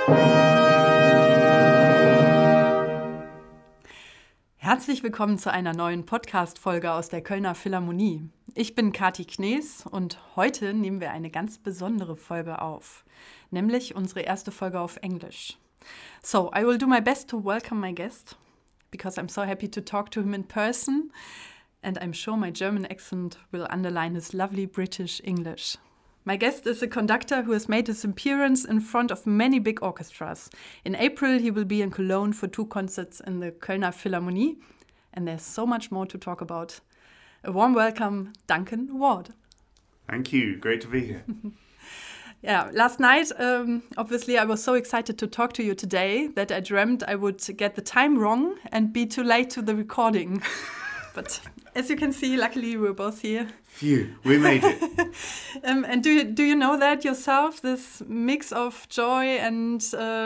Herzlich willkommen zu einer neuen Podcast-Folge aus der Kölner Philharmonie. Ich bin Kati Knees und heute nehmen wir eine ganz besondere Folge auf, nämlich unsere erste Folge auf Englisch. So, I will do my best to welcome my guest, because I'm so happy to talk to him in person, and I'm sure my German accent will underline his lovely British English. My guest is a conductor who has made his appearance in front of many big orchestras. In April, he will be in Cologne for 2 concerts in the Kölner Philharmonie, and there's so much more to talk about. A warm welcome, Duncan Ward. Thank you. Great to be here. Yeah, last night, obviously, I was so excited to talk to you today that I dreamt I would get the time wrong and be too late to the recording. But as you can see, luckily, we're both here. Phew, we made it. And do you know that yourself, this mix of joy and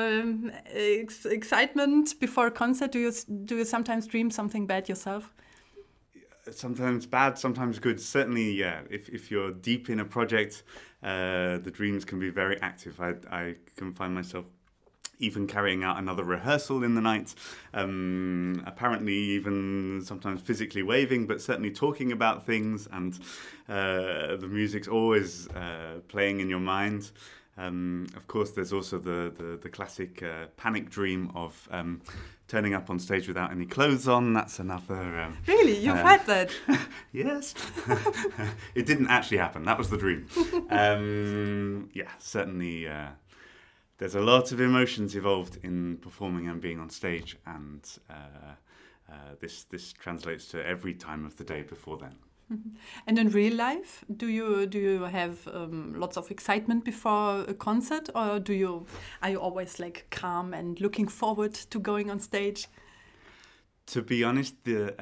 excitement before a concert? Do you sometimes dream something bad yourself? Sometimes bad, sometimes good. Certainly, yeah. If you're deep in a project, the dreams can be very active. I can find myself even carrying out another rehearsal in the night, apparently even sometimes physically waving, but certainly talking about things, and the music's always playing in your mind. Of course, there's also the classic panic dream of turning up on stage without any clothes on. That's another... Really? You've had that? Yes. It didn't actually happen. That was the dream. Yeah, certainly... There's a lot of emotions involved in performing and being on stage, and this translates to every time of the day before then. And in real life, do you have lots of excitement before a concert, or are you always like calm and looking forward to going on stage? To be honest,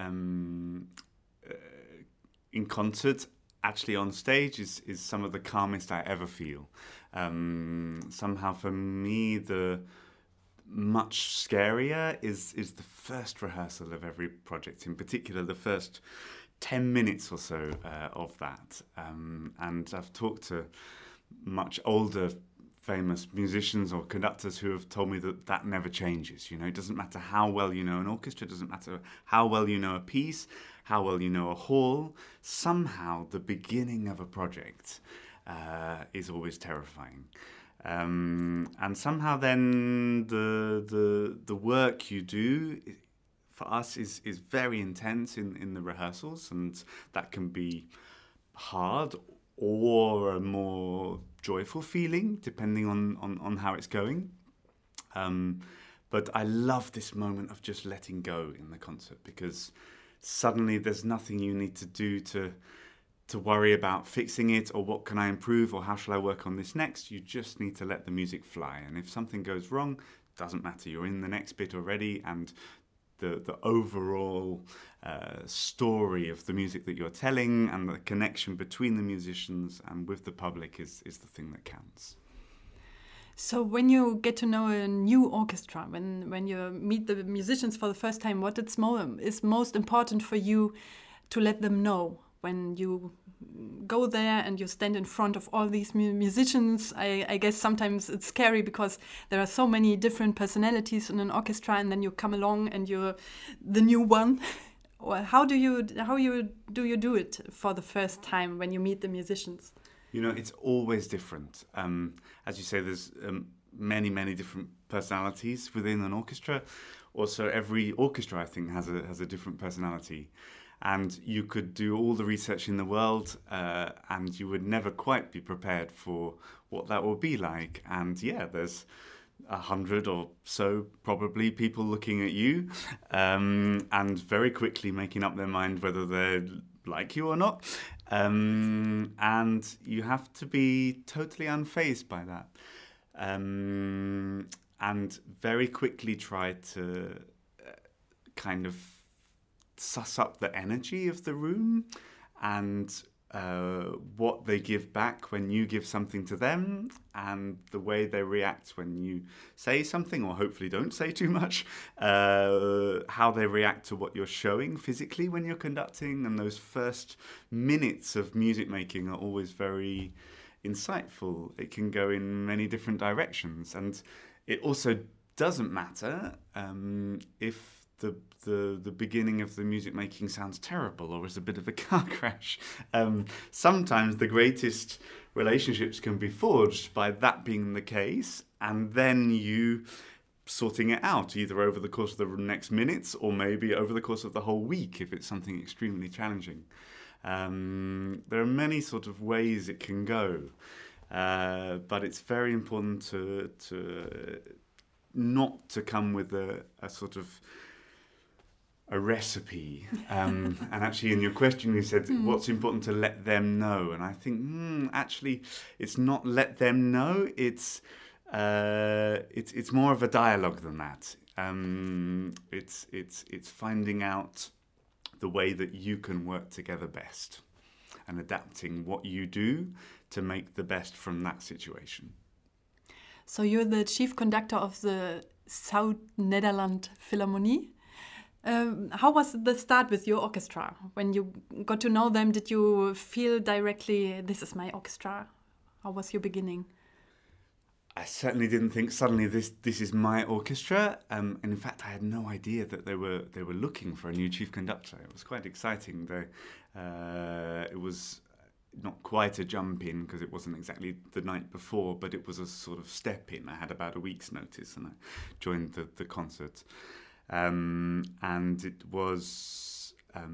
in concert, actually on stage is some of the calmest I ever feel. Somehow for me, the much scarier is the first rehearsal of every project, in particular the first 10 minutes or so of that. And I've talked to much older famous musicians or conductors who have told me that never changes. You know, it doesn't matter how well you know an orchestra, it doesn't matter how well you know a piece, how well you know a hall. Somehow the beginning of a project is always terrifying. And somehow then the work you do for us is very intense in the rehearsals, and that can be hard or a more joyful feeling depending on how it's going. But I love this moment of just letting go in the concert, because suddenly there's nothing you need to do to worry about fixing it, or what can I improve, or how shall I work on this next. You just need to let the music fly, and if something goes wrong, doesn't matter, you're in the next bit already, and the overall story of the music that you're telling and the connection between the musicians and with the public is the thing that counts. So when you get to know a new orchestra, when you meet the musicians for the first time, what is most important for you to let them know when you go there and you stand in front of all these musicians? I guess sometimes it's scary because there are so many different personalities in an orchestra, and then you come along and you're the new one. Or how do you do it for the first time when you meet the musicians? You know, it's always different. As you say, there's many different personalities within an orchestra. Also, every orchestra, I think, has a different personality. And you could do all the research in the world, and you would never quite be prepared for what that will be like. And yeah, there's 100 or so probably people looking at you, and very quickly making up their mind whether they like you or not. And you have to be totally unfazed by that, and very quickly try to kind of suss up the energy of the room and what they give back when you give something to them, and the way they react when you say something, or hopefully don't say too much, how they react to what you're showing physically when you're conducting. And those first minutes of music making are always very insightful. It can go in many different directions, and it also doesn't matter if the beginning of the music making sounds terrible or is a bit of a car crash. Sometimes the greatest relationships can be forged by that being the case, and then you sorting it out either over the course of the next minutes or maybe over the course of the whole week if it's something extremely challenging. There are many sort of ways it can go, but it's very important to not to come with a sort of a recipe. And actually in your question you said what's important to let them know, and I think actually it's not let them know, it's more of a dialogue than that. It's finding out the way that you can work together best and adapting what you do to make the best from that situation. So you're the chief conductor of the Zuid-Nederland Philharmonie. How was the start with your orchestra? When you got to know them, did you feel directly, this is my orchestra? How was your beginning? I certainly didn't think suddenly this is my orchestra, and in fact I had no idea that they were looking for a new chief conductor. It was quite exciting. It was not quite a jump in because it wasn't exactly the night before, but it was a sort of step in. I had about a week's notice and I joined the concert, and it was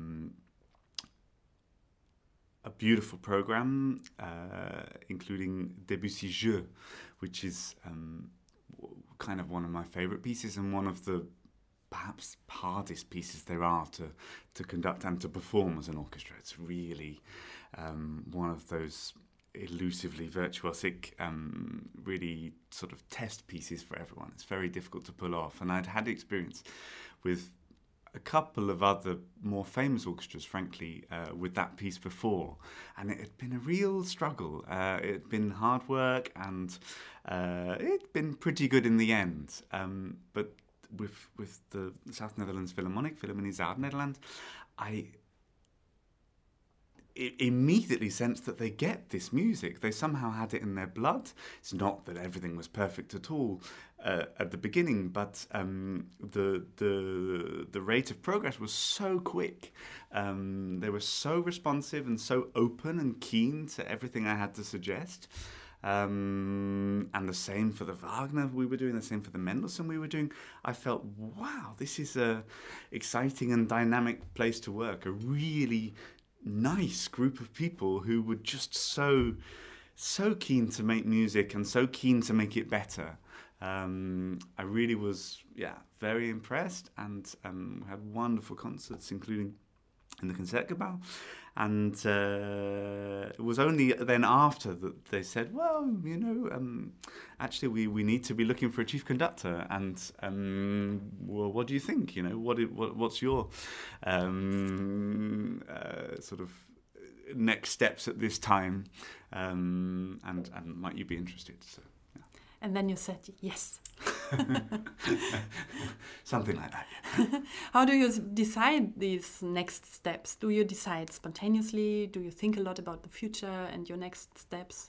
a beautiful program, including Debussy Jeux, which is kind of one of my favourite pieces and one of the perhaps hardest pieces there are to conduct and to perform as an orchestra. It's really one of those elusively virtuosic, really sort of test pieces for everyone. It's very difficult to pull off, and I'd had experience with a couple of other more famous orchestras, frankly, with that piece before, and it had been a real struggle. It had been hard work, and it'd been pretty good in the end. But with the South Netherlands Philharmonie Zuid-Nederland, I immediately sensed that they get this music. They somehow had it in their blood. It's not that everything was perfect at all at the beginning, but the rate of progress was so quick. They were so responsive and so open and keen to everything I had to suggest. And the same for the Wagner we were doing, the same for the Mendelssohn we were doing. I felt, wow, this is a exciting and dynamic place to work. A really nice group of people who were just so keen to make music and so keen to make it better. I really was, very impressed, and had wonderful concerts, including in the Concertgebouw. And it was only then after that they said, well, actually we need to be looking for a chief conductor, and well, what do you think? What's your sort of next steps at this time, and might you be interested? So, yeah. And then you said yes. Something like that. How do you decide these next steps? Do you decide spontaneously? Do you think a lot about the future and your next steps?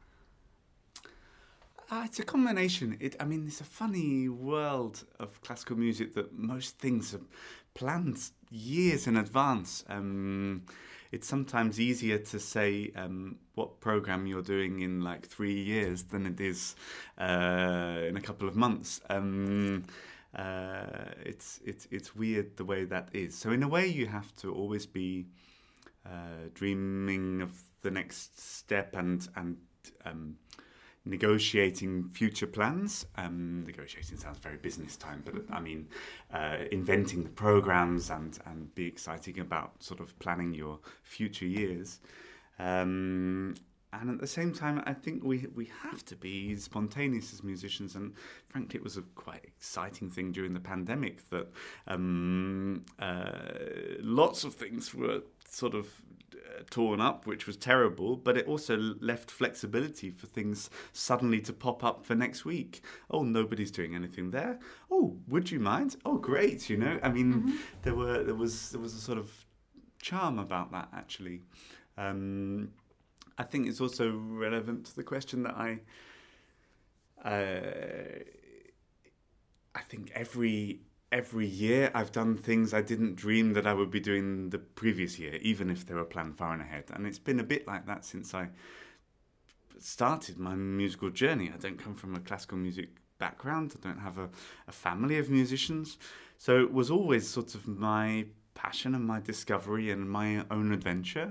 It's a combination. It's a funny world of classical music that most things are planned years in advance. It's sometimes easier to say what program you're doing in like 3 years than it is in a couple of months. It's weird the way that is. So in a way, you have to always be dreaming of the next step and negotiating future plans. Negotiating sounds very business time, but inventing the programs and be exciting about sort of planning your future years. And at the same time, I think we have to be spontaneous as musicians. And frankly, it was a quite exciting thing during the pandemic that lots of things were sort of torn up, which was terrible, but it also left flexibility for things suddenly to pop up for next week. Oh, nobody's doing anything there. Oh, would you mind? Oh, great, there was a sort of charm about that, actually. I think it's also relevant to the question that I think every year I've done things I didn't dream that I would be doing the previous year, even if they were planned far in ahead. And it's been a bit like that since I started my musical journey. I don't come from a classical music background. I don't have a family of musicians. So it was always sort of my passion and my discovery and my own adventure.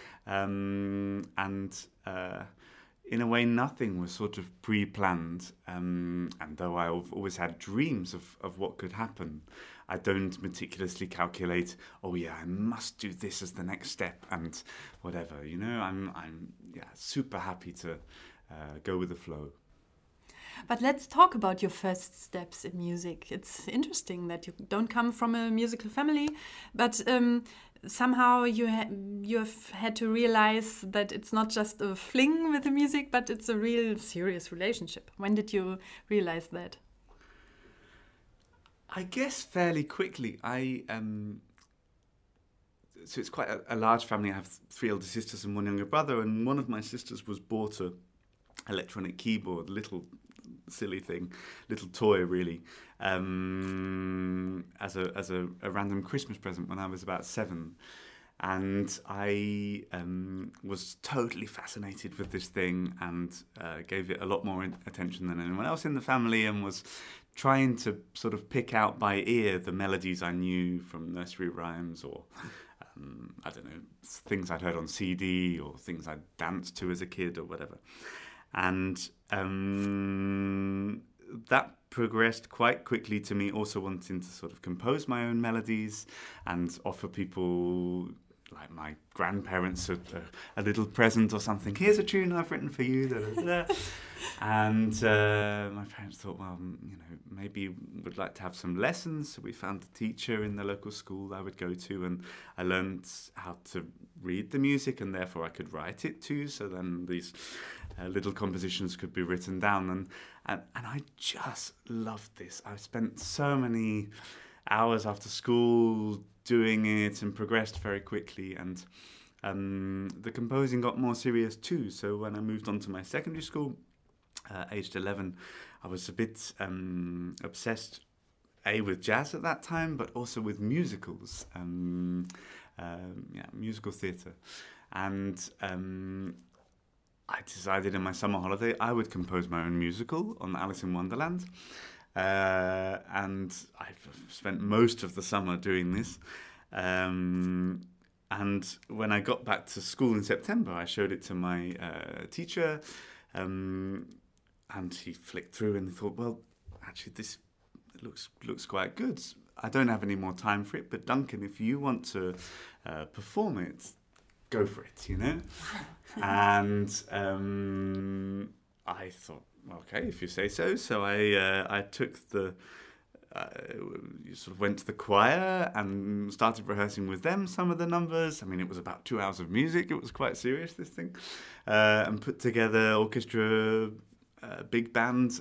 In a way, nothing was sort of pre-planned. And though I've always had dreams of what could happen, I don't meticulously calculate, oh yeah, I must do this as the next step and whatever. You know, I'm super happy to go with the flow. But let's talk about your first steps in music. It's interesting that you don't come from a musical family, but somehow you've had to realize that it's not just a fling with the music, but it's a real serious relationship. When did you realize that? I guess fairly quickly. So it's quite a large family. I have 3 elder sisters and 1 younger brother, and one of my sisters was bought a electronic keyboard, little silly thing, little toy really, as a random Christmas present when I was about 7. And I was totally fascinated with this thing and gave it a lot more attention than anyone else in the family, and was trying to sort of pick out by ear the melodies I knew from nursery rhymes or I don't know, things I'd heard on CD or things I'd danced to as a kid or whatever. And that progressed quite quickly to me also wanting to sort of compose my own melodies and offer people like my grandparents a little present or something. Here's a tune I've written for you. Da, da, da. And my parents thought, well, you know, maybe would like to have some lessons. So we found a teacher in the local school I would go to, and I learned how to read the music, and therefore I could write it too. So then these little compositions could be written down, and I just loved this. I spent so many hours after school doing it and progressed very quickly, and the composing got more serious too. So when I moved on to my secondary school, aged 11, I was a bit obsessed, with jazz at that time, but also with musicals, musical theatre. And I decided in my summer holiday I would compose my own musical on Alice in Wonderland. And I've spent most of the summer doing this. And when I got back to school in September, I showed it to my teacher, and he flicked through and thought, well, actually, this looks quite good. I don't have any more time for it, but Duncan, if you want to perform it, go for it, you know? And I thought, okay, if you say so. So I took sort of went to the choir and started rehearsing with them some of the numbers. I mean, it was about 2 hours of music. It was quite serious, this thing. And put together orchestra, big band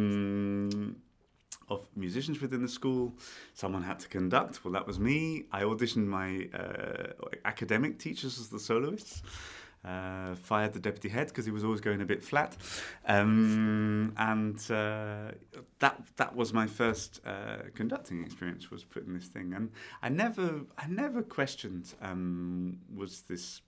of musicians within the school. Someone had to conduct. Well, that was me. I auditioned my academic teachers as the soloists. Fired the deputy head because he was always going a bit flat, and that was my first conducting experience, was putting this thing. And I never questioned was this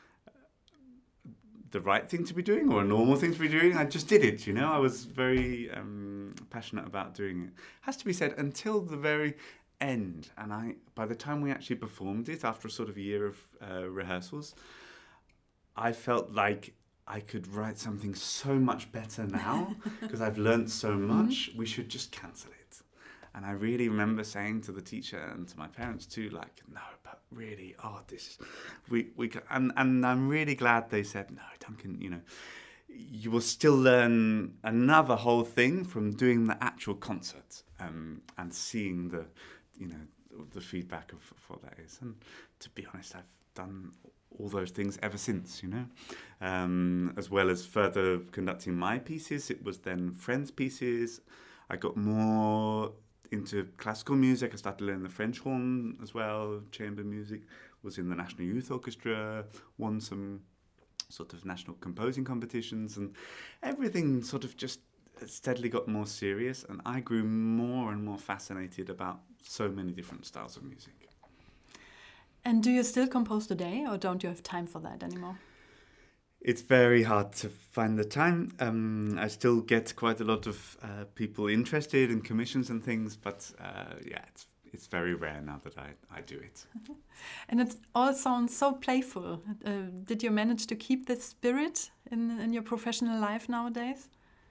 the right thing to be doing or a normal thing to be doing. I just did it, you know. I was very passionate about doing it. Has to be said, until the very end. And by the time we actually performed it, after a sort of year of rehearsals, I felt like I could write something so much better now because I've learned so much. We should just cancel it. And I really remember saying to the teacher and to my parents too, like, no, but really, and I'm really glad they said, no, Duncan, you know, you will still learn another whole thing from doing the actual concert and seeing the feedback of what that is. And to be honest, I've done all those things ever since, you know, as well as further conducting my pieces. It was then friends' pieces. I got more into classical music. I started learning the French horn as well, chamber music, was in the National Youth Orchestra, won some sort of national composing competitions, and everything sort of just steadily got more serious, and I grew more and more fascinated about so many different styles of music. And do you still compose today, or don't you have time for that anymore? It's very hard to find the time. I still get quite a lot of people interested in commissions and things, but yeah, it's very rare now that I do it. And it all sounds so playful. Did you manage to keep this spirit in your professional life nowadays?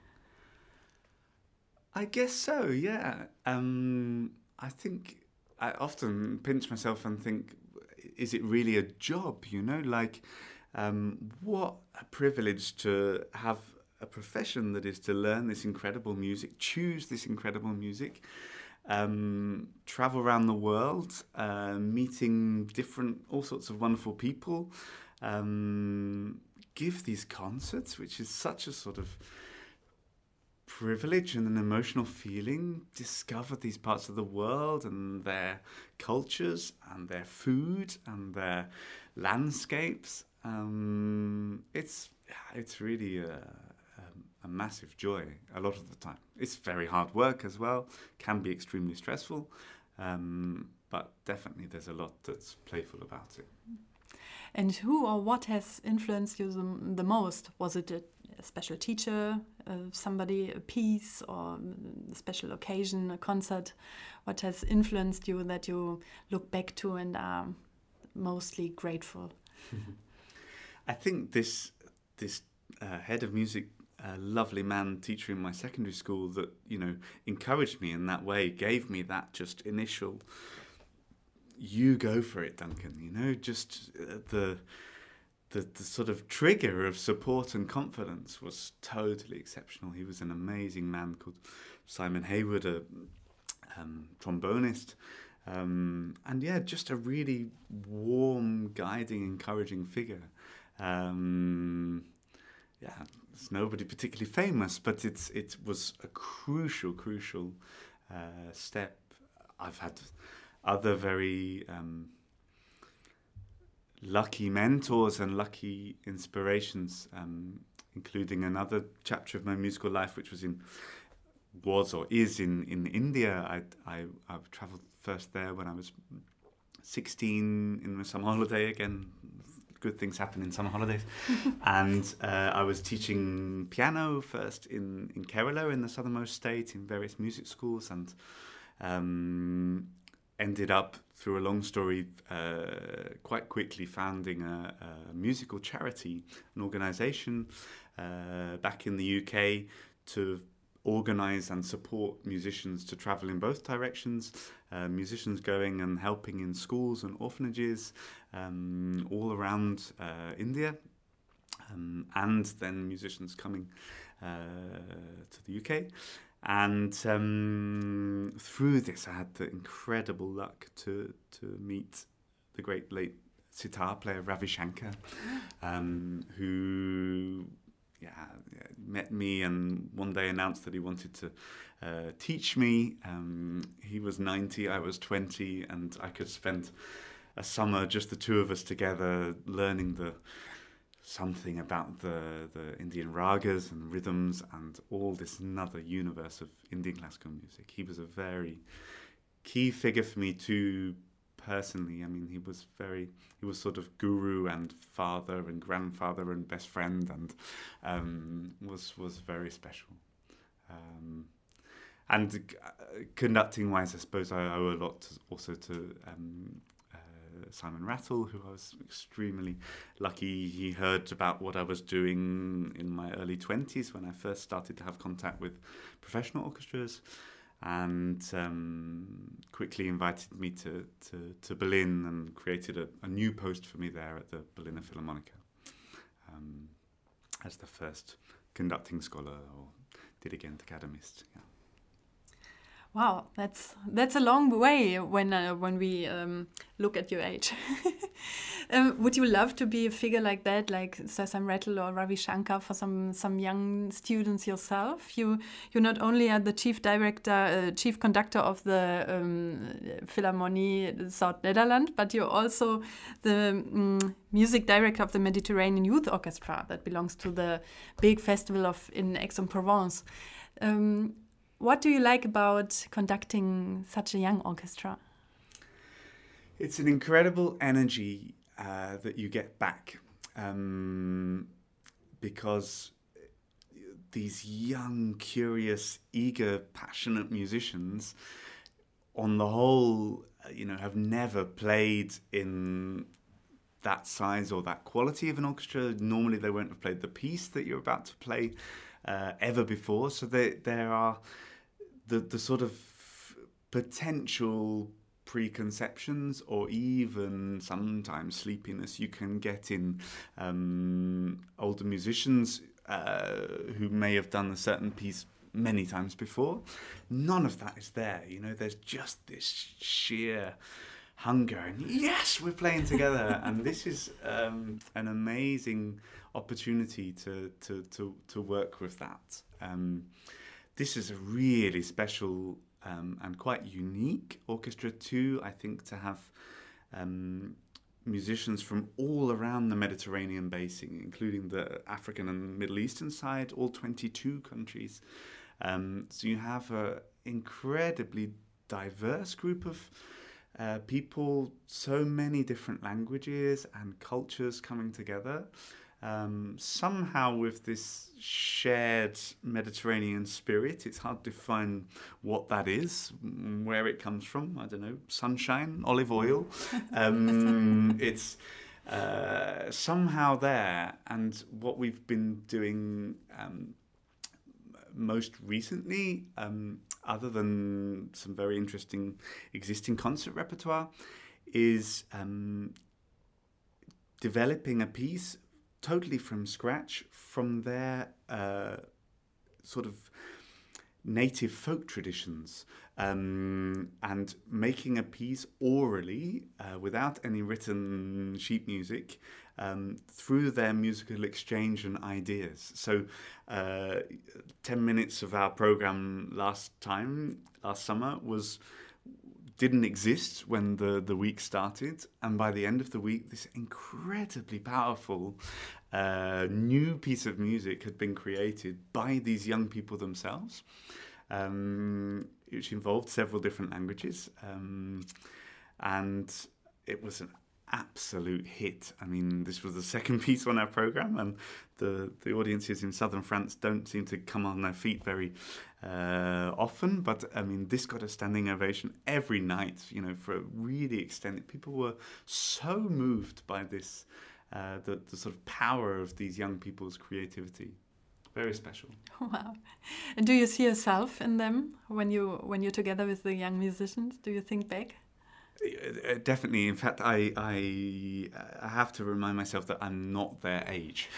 I guess so, yeah. I think I often pinch myself and think, is it really a job, you know? Like, what a privilege to have a profession that is to learn this incredible music, choose this incredible music, travel around the world, meeting all sorts of wonderful people, give these concerts, which is such a sort of privilege and an emotional feeling, discover these parts of the world and their cultures and their food and their landscapes. It's really a massive joy a lot of the time. It's very hard work as well, can be extremely stressful, but definitely there's a lot that's playful about it. And who or what has influenced you the most? Was it a special teacher, somebody, a piece, or a special occasion, a concert? What has influenced you that you look back to and are mostly grateful? I think this head of music, lovely man teacher in my secondary school that, you know, encouraged me in that way, gave me that just initial, you go for it, Duncan, you know, just the sort of trigger of support and confidence was totally exceptional. He was an amazing man called Simon Hayward, a trombonist. And yeah, just a really warm, guiding, encouraging figure. Yeah, it's nobody particularly famous, but it was a crucial step. I've had other very lucky mentors and lucky inspirations, including another chapter of my musical life, which is in India. I've travelled first there when I was 16 in the summer holiday. Again, good things happen in summer holidays. And I was teaching piano first in Kerala, in the southernmost state, in various music schools, and ended up, through a long story, quite quickly founding a musical charity, an organisation back in the UK to organise and support musicians to travel in both directions, musicians going and helping in schools and orphanages all around India, and then musicians coming to the UK. And through this, I had the incredible luck to meet the great late sitar player Ravi Shankar, who met me and one day announced that he wanted to teach me. He was 90, I was 20, and I could spend a summer, just the two of us together, learning something about the Indian ragas and rhythms and all this another universe of Indian classical music. He was a very key figure for me too, personally. I mean, he was sort of guru and father and grandfather and best friend, and was very special. And conducting wise, I suppose I owe a lot also to Simon Rattle, who I was extremely lucky. He heard about what I was doing in my early 20s when I first started to have contact with professional orchestras, and quickly invited me to Berlin and created a new post for me there at the Berliner Philharmoniker as the first conducting scholar or dirigent academist. Yeah. Wow, that's a long way when we look at your age. Would you love to be a figure like that, like Sam Rattle or Ravi Shankar, for some young students yourself? You not only are the chief conductor of the Philharmonie Zuid-Nederland, but you're also the music director of the Mediterranean Youth Orchestra that belongs to the big festival in Aix-en-Provence. What do you like about conducting such a young orchestra? It's an incredible energy that you get back because these young, curious, eager, passionate musicians, on the whole, have never played in that size or that quality of an orchestra. Normally, they won't have played the piece that you're about to play ever before. So there are the sort of potential preconceptions or even sometimes sleepiness you can get in older musicians who may have done a certain piece many times before. None of that is there. There's just this sheer hunger and yes, we're playing together. And this is an amazing opportunity to work with that. This is a really special and quite unique orchestra too, I think, to have musicians from all around the Mediterranean basin, including the African and Middle Eastern side, all 22 countries. So you have an incredibly diverse group of people, so many different languages and cultures coming together. Somehow with this shared Mediterranean spirit. It's hard to define what that is, where it comes from. I don't know, sunshine, olive oil. It's somehow there. And what we've been doing most recently, other than some very interesting existing concert repertoire, is developing a piece totally from scratch from their sort of native folk traditions, and making a piece orally without any written sheet music through their musical exchange and ideas. So 10 minutes of our program last summer didn't exist when the week started, and by the end of the week this incredibly powerful new piece of music had been created by these young people themselves, which involved several different languages, and it was an absolute hit. I mean, this was the second piece on our program, and the audiences in southern France don't seem to come on their feet very often, but I mean, this got a standing ovation every night, for a really extended. People were so moved by this, the sort of power of these young people's creativity. Very special. Wow. And do you see yourself in them when you're together with the young musicians? Do you think back? Definitely. In fact, I have to remind myself that I'm not their age.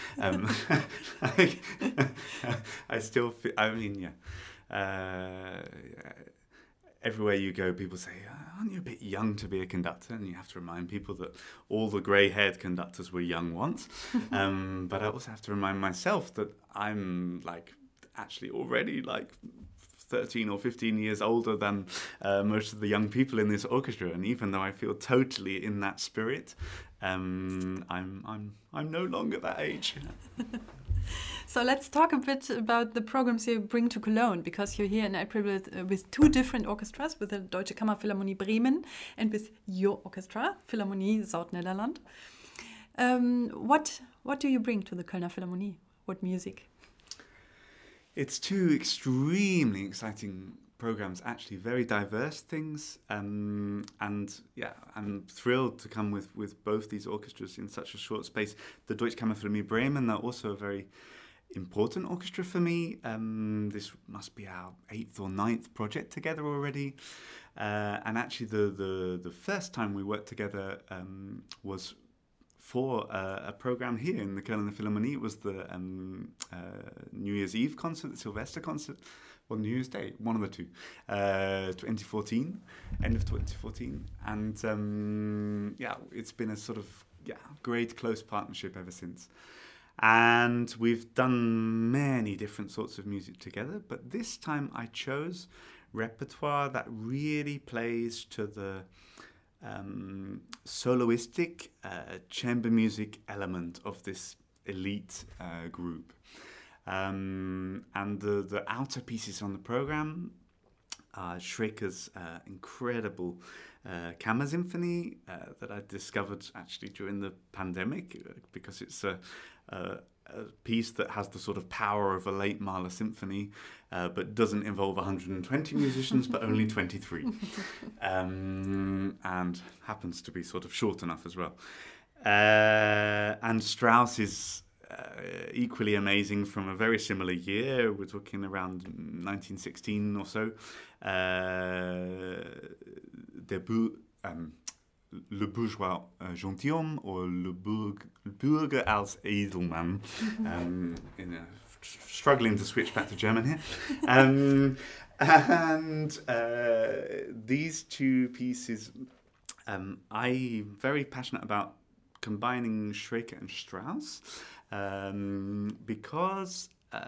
I still feel, I mean, yeah. Everywhere you go, people say, aren't you a bit young to be a conductor? And you have to remind people that all the grey-haired conductors were young once. But I also have to remind myself that I'm actually already 13 or 15 years older than most of the young people in this orchestra, and even though I feel totally in that spirit, I'm no longer that age. So let's talk a bit about the programs you bring to Cologne, because you're here in April with two different orchestras, with the Deutsche Kammerphilharmonie Bremen and with your orchestra, Philharmonie Zuid-Nederland. What do you bring to the Kölner Philharmonie? What music? It's two extremely exciting programs, actually very diverse things, and yeah, I'm thrilled to come with both these orchestras in such a short space. The Deutsche Kammerphilharmonie Bremen are also a very important orchestra for me. This must be our 8th or 9th project together already, and actually the first time we worked together was for a program here in the Kölner Philharmonie. It was the New Year's Eve concert, the Sylvester concert, or New Year's Day, one of the two, 2014, end of 2014. And it's been a sort of great close partnership ever since. And we've done many different sorts of music together, but this time I chose repertoire that really plays to the soloistic chamber music element of this elite group. And the outer pieces on the program are Schreker's incredible Kammer Symphony that I discovered actually during the pandemic, because it's a piece that has the sort of power of a late Mahler symphony, but doesn't involve 120 musicians, but only 23. And happens to be sort of short enough as well. And Strauss is equally amazing from a very similar year. We're talking around 1916 or so. Le Bourgeois Gentilhomme, or Le Bürger als Edelmann. Struggling to switch back to German here. And these two pieces, I'm very passionate about combining Schreker and Strauss, because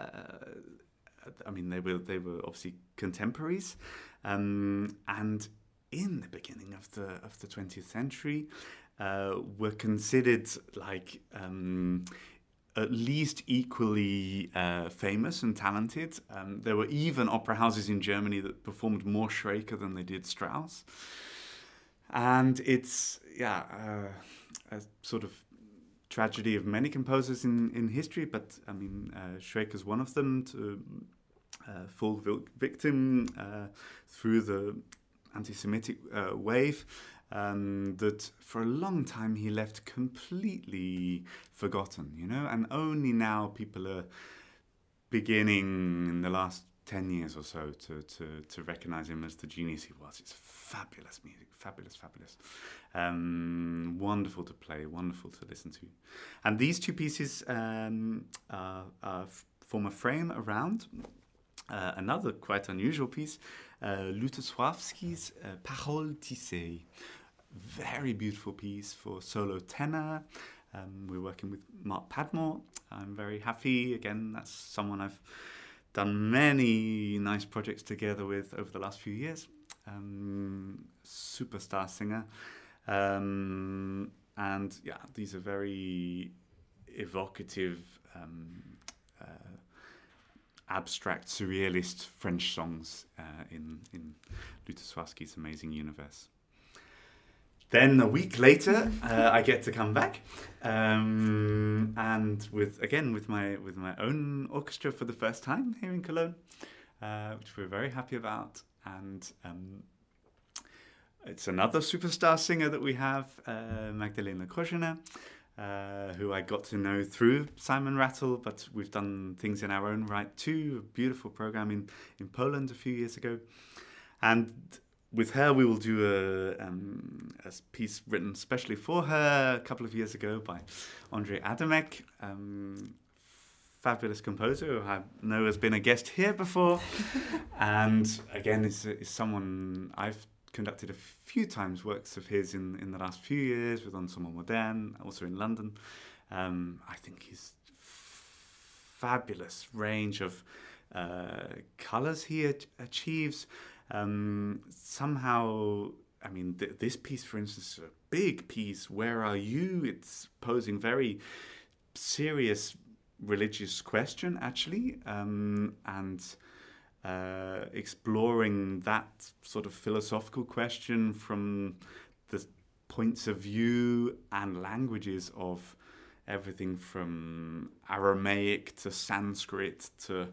they were obviously contemporaries, and in the beginning of the 20th century, were considered like at least equally famous and talented. There were even opera houses in Germany that performed more Schreker than they did Strauss. And it's a sort of tragedy of many composers in history, but Schreker's one of them to fall victim through the anti-Semitic wave, that for a long time he left completely forgotten, and only now people are beginning in the last 10 years or so to recognize him as the genius he was. It's fabulous music, fabulous. Wonderful to play, wonderful to listen to. And these two pieces form a frame around another quite unusual piece, Lutosławski's Paroles tissées. Very beautiful piece for solo tenor. We're working with Mark Padmore. I'm very happy. Again, that's someone I've done many nice projects together with over the last few years. Superstar singer. And these are very evocative, abstract, surrealist French songs in Lutosławski's amazing universe. Then a week later, I get to come back, and with my own orchestra for the first time here in Cologne, which we're very happy about. And it's another superstar singer that we have, Magdalena Korzena, who I got to know through Simon Rattle, but we've done things in our own right too. A beautiful program in Poland a few years ago. And with her, we will do a piece written specially for her a couple of years ago by Andrzej Adamek, fabulous composer who I know has been a guest here before. And again, is someone I've conducted a few times works of his in the last few years with Ensemble Moderne, also in London. I think his fabulous range of colours he achieves. Somehow, this piece, for instance, is a big piece, Where Are You? It's posing very serious religious question, actually, and exploring that sort of philosophical question from the points of view and languages of everything from Aramaic to Sanskrit to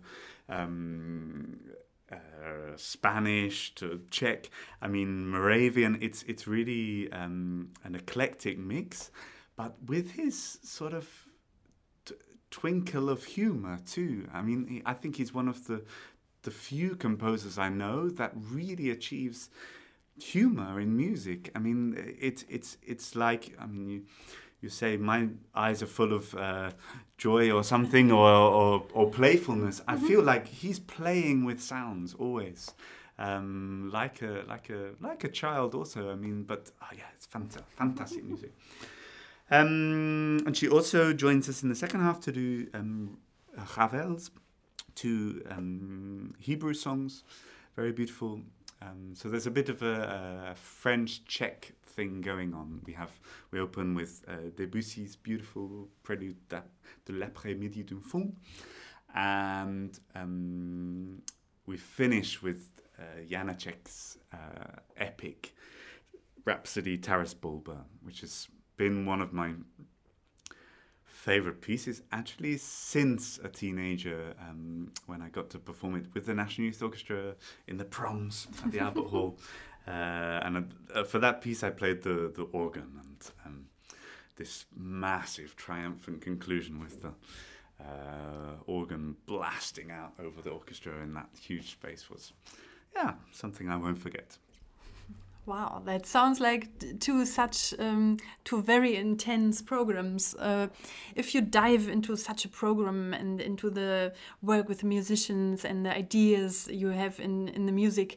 Spanish to Czech, Moravian. It's really an eclectic mix, but with his sort of twinkle of humor too. I think he's one of the few composers I know that really achieves humor in music. It's like you say my eyes are full of joy or something, or playfulness. I feel like he's playing with sounds always, like a child also. I mean, but it's fantastic music. And she also joins us in the second half to do Ravel's, two Hebrew songs, very beautiful. So there's a bit of a French-Czech thing going on. We open with Debussy's beautiful prelude de l'après-midi d'un fond, and we finish with Janacek's epic Rhapsody Taras Bulba, which has been one of my favorite pieces actually since a teenager, when I got to perform it with the National Youth Orchestra in the proms at the Albert Hall, and for that piece I played the organ, and this massive triumphant conclusion with the organ blasting out over the orchestra in that huge space was something I won't forget. Wow, that sounds like two very intense programs. If you dive into such a program and into the work with the musicians and the ideas you have in the music,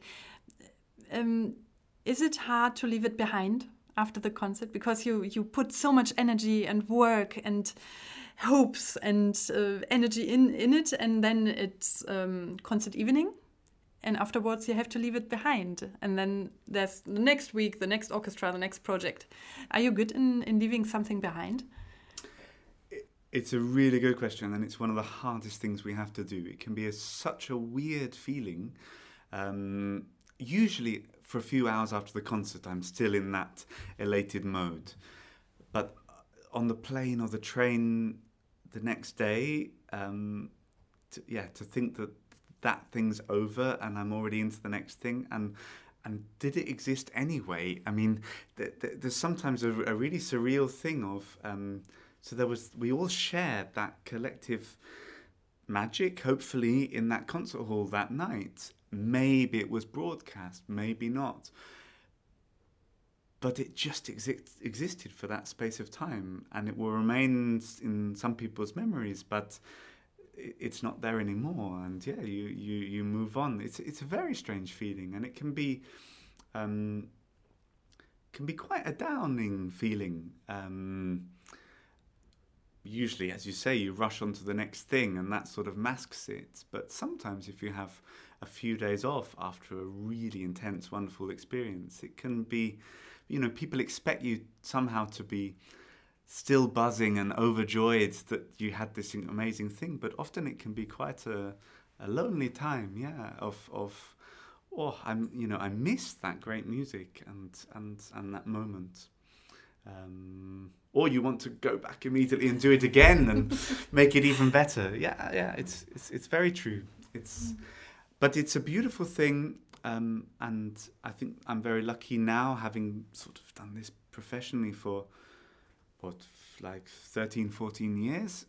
is it hard to leave it behind after the concert? Because you put so much energy and work and hopes and energy in it, and then it's concert evening. And afterwards, you have to leave it behind. And then there's the next week, the next orchestra, the next project. Are you good in leaving something behind? It's a really good question, and it's one of the hardest things we have to do. It can be such a weird feeling. Usually, for a few hours after the concert, I'm still in that elated mode. But on the plane or the train the next day, to think that thing's over and I'm already into the next thing, and did it exist anyway? I mean, there's sometimes a really surreal thing of we all shared that collective magic, hopefully, in that concert hall that night. Maybe it was broadcast, maybe not, but it just existed for that space of time, and it will remain in some people's memories, but it's not there anymore, and you move on. It's a very strange feeling, and it can be quite a downing feeling. Usually, as you say, you rush on to the next thing, and that sort of masks it. But sometimes, if you have a few days off after a really intense, wonderful experience, it can be, people expect you somehow to be still buzzing and overjoyed that you had this amazing thing, but often it can be quite a lonely time, I miss that great music and that moment. Or you want to go back immediately and do it again and make it even better. It's very true. But it's a beautiful thing, and I think I'm very lucky now, having sort of done this professionally for 13, 14 years,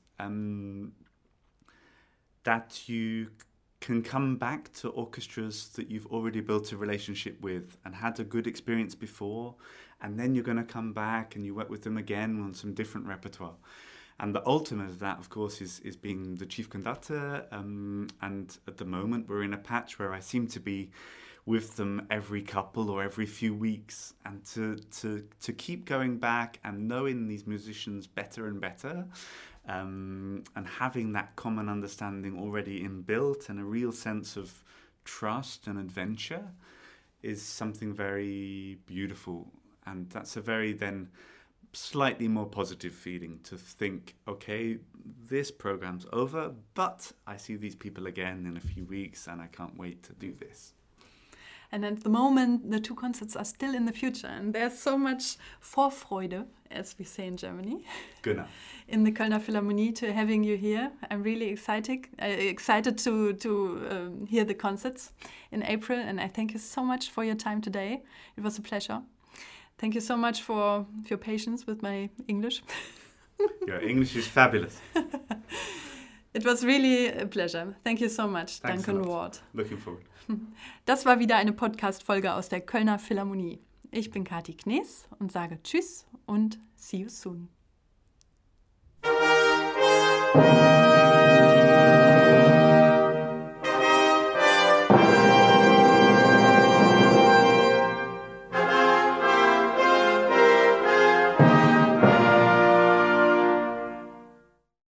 that you can come back to orchestras that you've already built a relationship with and had a good experience before, and then you're going to come back and you work with them again on some different repertoire. And the ultimate of that, of course, is being the chief conductor, and at the moment we're in a patch where I seem to be with them every couple or every few weeks, and to keep going back and knowing these musicians better and better, and having that common understanding already inbuilt and a real sense of trust and adventure is something very beautiful. And that's a very then slightly more positive feeling to think, okay, this program's over, but I see these people again in a few weeks and I can't wait to do this. And at the moment, the two concerts are still in the future, and there's so much Vorfreude, as we say in Germany, Genau. in the Kölner Philharmonie to having you here. I'm really excited to hear the concerts in April, and I thank you so much for your time today. It was a pleasure. Thank you so much for your patience with my English. Your English is fabulous. It was really a pleasure. Thank you so much, Thanks Duncan Ward. Looking forward. Das war wieder eine Podcast-Folge aus der Kölner Philharmonie. Ich bin Kati Knees und sage Tschüss und see you soon. Tschüss.